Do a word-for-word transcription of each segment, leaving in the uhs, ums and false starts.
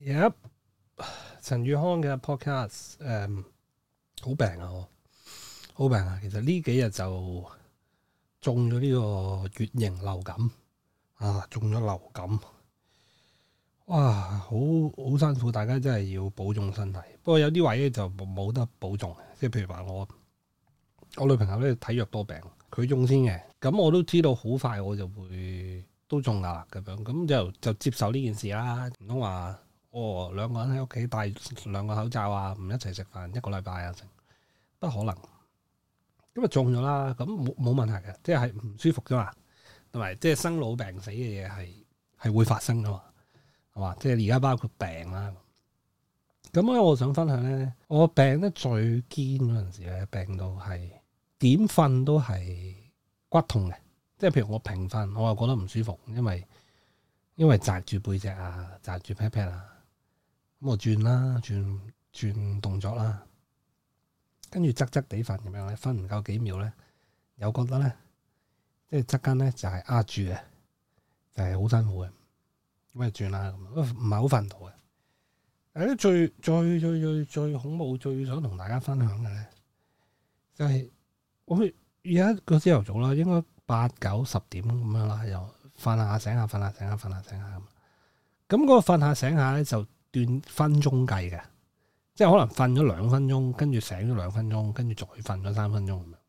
Yep，陳宇康嘅 podcast，誒，好病啊，我好病啊！其實呢幾日就中咗呢個乙型流感啊，中咗流感，哇，好好辛苦，大家真係要保重身體。不過有啲位咧就冇得保重，即係譬如話我我女朋友咧體弱多病，佢中先嘅，咁我都知道好快我就會都中噶啦，咁樣咁就就接受呢件事啦，唔通話。哦，兩個人喺屋企戴兩個口罩啊，唔一齊食飯一個禮拜啊，成不可能。咁啊中咗啦，咁冇冇問題嘅，即係唔舒服啫嘛，同埋即係生老病死嘅嘢係係會發生噶嘛，係嘛？即係而家包括病啦。咁咧，我想分享咧，我病得最堅嗰陣時咧，病到係點瞓都係骨痛嘅，即係譬如我平瞓，我又覺得唔舒服，因為因為紮住背脊啊，紮住 pat pat 啊。咁我轉啦，轉轉動作啦，跟住側側地瞓咁樣咧，瞓唔夠幾秒咧，又覺得咧，即係側間咧就係壓住嘅，就係好辛苦嘅，咁啊轉啦，咁唔係好瞓到嘅。誒，最最最最最恐怖，最想同大家分享嘅咧，就係我而家個朝頭早啦，應該八九十點咁樣啦，又瞓下醒下，瞓下醒下，瞓下醒下咁。咁嗰個瞓下醒下咧就斷分鐘計嘅，即係可能瞓咗兩分鐘，跟住醒咗兩分鐘，跟住再瞓咗三分鐘咁樣。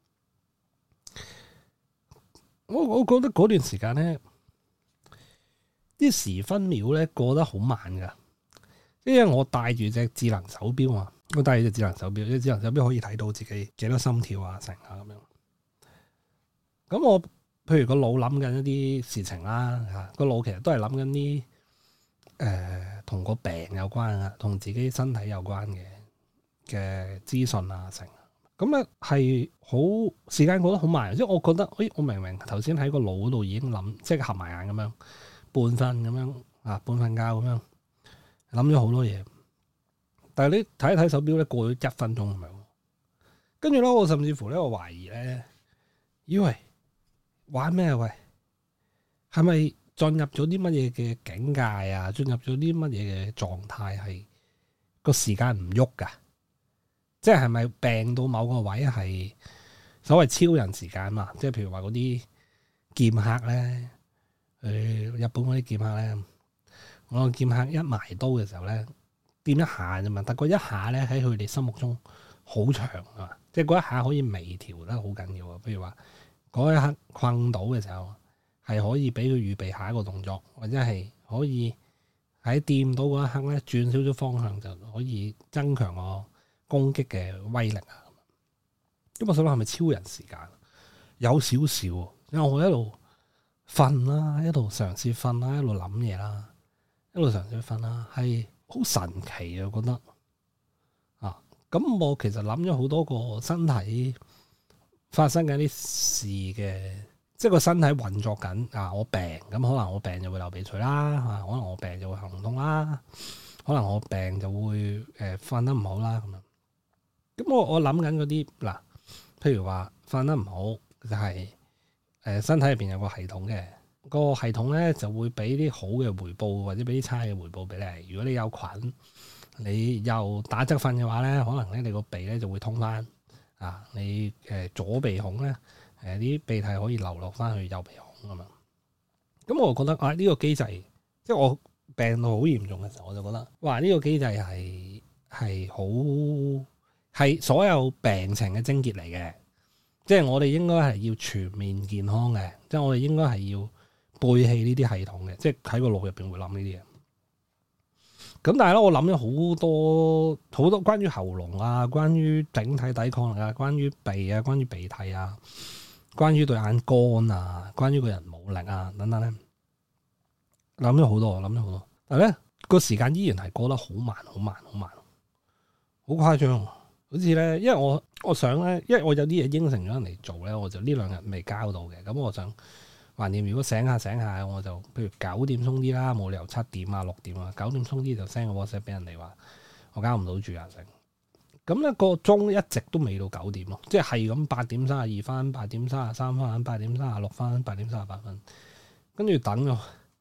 我我覺得嗰段時間咧，啲時分秒咧過得好慢噶，因為我帶住隻智能手錶啊，我帶住隻智能手錶，隻智能手錶可以睇到自己幾多心跳啊，成啊咁樣。咁我譬如個腦諗緊一啲事情啦，吓個腦其實都係諗緊啲。誒，同個、呃、病有關啊，同自己身體有關嘅嘅資訊啊，成咁咧係好時間過得好慢，即係我覺得，誒，我明明頭先喺個腦度已經諗，即係合埋眼咁樣，半瞓咁樣啊，半瞓覺咁樣諗咗好多嘢，但係你睇一睇手錶咧，過咗一分鐘咁樣，跟住咧，我甚至乎咧，我懷疑咧，咦喂，玩咩喂？係咪？進入咗啲乜嘢嘅境界啊？進入咗啲乜嘢嘅狀態係個時間唔喐噶？即係係咪病到某個位係所謂超人時間嘛？即係譬如話嗰啲劍客咧，誒日本嗰啲劍客咧，我個劍客一埋刀嘅時候咧，掂一下啫嘛，但嗰一下咧喺佢哋心目中好長啊，即係嗰一下可以微調得好緊要啊。譬如話嗰一刻困到嘅時候。係可以俾佢預備下一個動作，或者係可以喺掂到嗰一刻咧轉少少方向，就可以增強我攻擊嘅威力啊！咁我想諗係咪超人時間？有少少，因為我一路瞓啦，一路嘗試瞓啦，一路諗嘢啦，一路嘗試瞓啦，係好神奇啊！我覺得啊，咁我其實諗咗好多個身體發生緊啲事嘅。即係個身體運作緊啊！我病咁，可能我病就會流鼻水啦，可能我病就會行唔通啦，可能我病就會誒瞓、呃、得唔好啦咁樣。咁我我諗緊嗰啲嗱，譬如話瞓得唔好就係、是、誒、呃、身體入邊有個系統嘅，個系統咧就會俾啲好嘅回報或者俾啲差嘅回報俾你。如果你有菌，你又打側瞓嘅話咧，可能咧你個鼻咧就會通翻啊！你誒、呃、左鼻孔咧。誒啲鼻涕可以流落翻去右鼻孔啊嘛，咁我覺得啊呢個機制，即係我病到好嚴重嘅時候，我就覺得哇呢個機制係係好係所有病情嘅症結嚟嘅，即係我哋應該係要全面健康嘅，即係我哋應該係要背棄呢啲系統嘅，即係喺個腦入邊會諗呢啲嘢。咁但係咧，我諗咗好多好多關於喉嚨啊，關於整體抵抗力啊，關於鼻啊，關於鼻涕啊。關於對眼乾啊，關於個人冇力啊，等等咧，諗咗好多，諗咗好多，但係咧個時間依然係過得好慢，好慢，好慢，好誇張。好似咧，因為我我想咧，因為我有啲嘢應承咗人嚟做咧，我就呢兩日未交到嘅。咁我想橫掂，如果醒下醒下，我就譬如九點鬆啲啦，冇理由七點啊六點啊，九點鬆啲就 send 個 WhatsApp 俾人哋話我交唔到住啊成。咁咧個鐘一直都未到九點咯，即係咁八點三十二分、八點三十三分、八點三十六分、八點三十八分，跟住等咗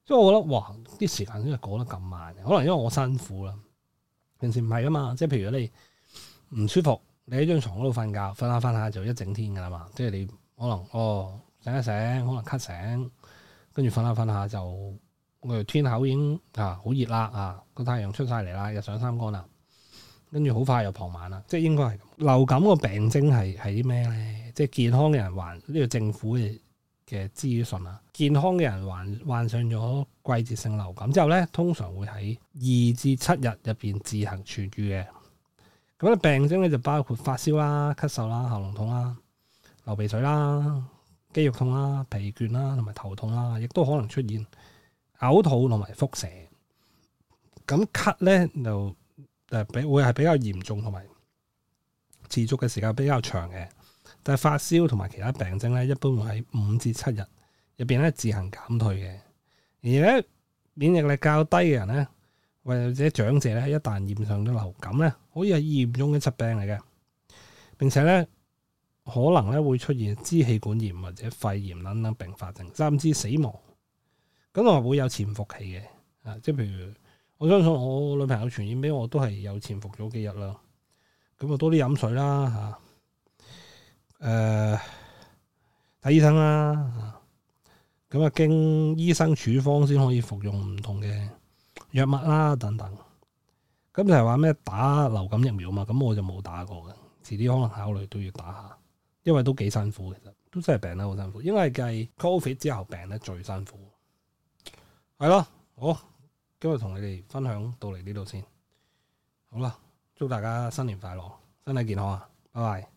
所以我覺得哇，啲時間真係過得咁慢，可能因為我辛苦啦。平時唔係啊嘛，即係譬如你唔舒服，你喺張床嗰度瞓覺，瞓下瞓下就一整天噶啦嘛。即係你可能哦醒一醒，可能咳醒，跟住瞓下瞓下就我天口已經啊好熱啦啊，個太陽出晒嚟啦，日上三竿啦，跟住好快又傍晚啦。即係應該係咁。流感個病徵係係啲咩咧？即係健康嘅人患呢個政府嘅嘅資訊啊，健康嘅人患患上咗季節性流感之後咧，通常會喺二至七日入邊自行痊愈嘅。咁咧病徵咧就包括發燒啦、咳嗽啦、喉嚨痛啦、流鼻水啦、肌肉痛啦、疲倦啦，同埋頭痛啦，亦都可能出現嘔吐同埋腹瀉。咁咳咧就誒比會係比較嚴重同埋持續嘅時間比較長嘅。但係發燒同埋其他病徵咧，一般會喺五至七日入邊咧自行減退嘅。而咧免疫力較低嘅人咧，或者長者咧，一旦染上咗流感咧，可以係嚴重嘅疾病嚟嘅。並且咧可能咧會出現支氣管炎或者肺炎等等併發症，甚至死亡。咁我會有潛伏期嘅啊，即係譬如我相信我女朋友傳染俾我都係有潛伏咗幾日啦。咁啊多啲飲水啦嚇。誒，睇、呃、醫生啦，咁啊經醫生處方先可以服用唔同嘅藥物啦，等等。咁就係話咩打流感疫苗嘛，咁我就冇打過嘅，遲啲可能考慮都要打下，因為都幾辛苦，其實都真係病得好辛苦，應該係計 Covid 之後病得最辛苦。係咯，好，今日同你哋分享到嚟呢度先，好啦，祝大家新年快樂，身體健康啊，拜拜。